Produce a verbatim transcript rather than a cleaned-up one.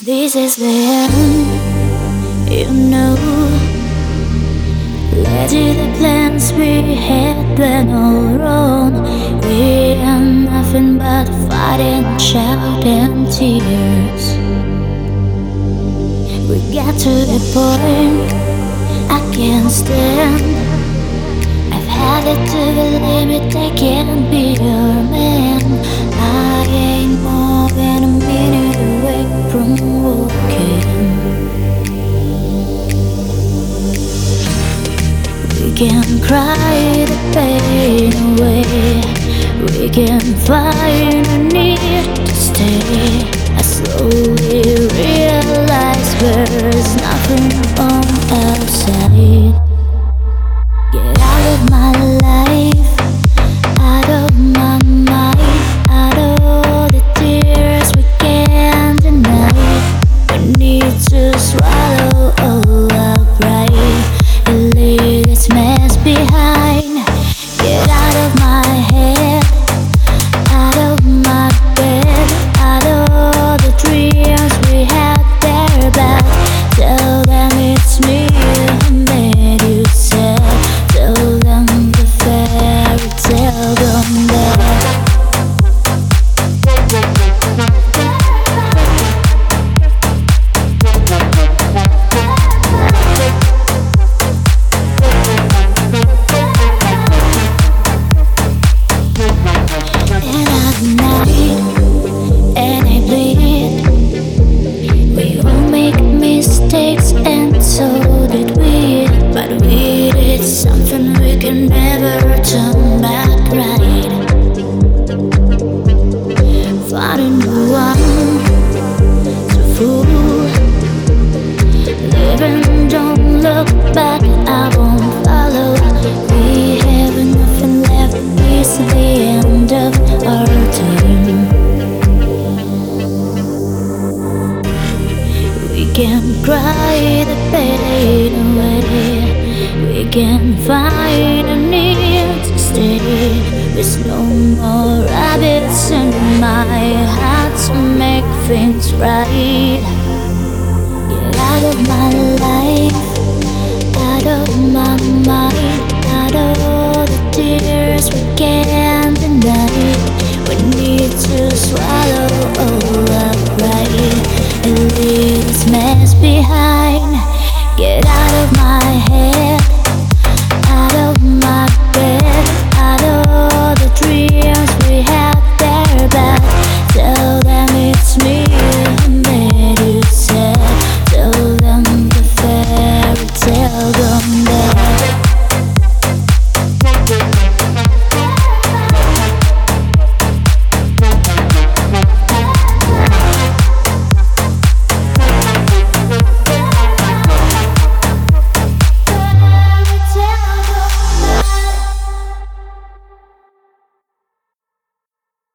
This is the end, you know. Let's do the plans we had went all wrong. We are nothing but fighting, shouting tears. We got to the point I can't stand. I've had it to the limit, I can't be your man. I ain't more than a minute away from walking. We can cry the pain away. We can find a need to stay. I slowly realize there's nothing on outside. Get out of my life, out of my mind, out of the tears we can't deny. We need to swallow all our pride and leave this mess behind. Get out of my head, out of my bed, out of the dreams we had there back. Tell them it's me who made you sad. Tell them the fairy tale gone bad. And at night, and I bleed. We all make mistakes, and so did we. But we did something we can never turn back right. Finding the one to fool. Living, don't look back, I won't follow. We have nothing left, it's the end of our time. We can cry the pain away. We can find a need to stay. There's no more rabbits in my heart to make things right. Get out of my life, out of my mind, out of the tears we can't deny. We need to swallow all our pride.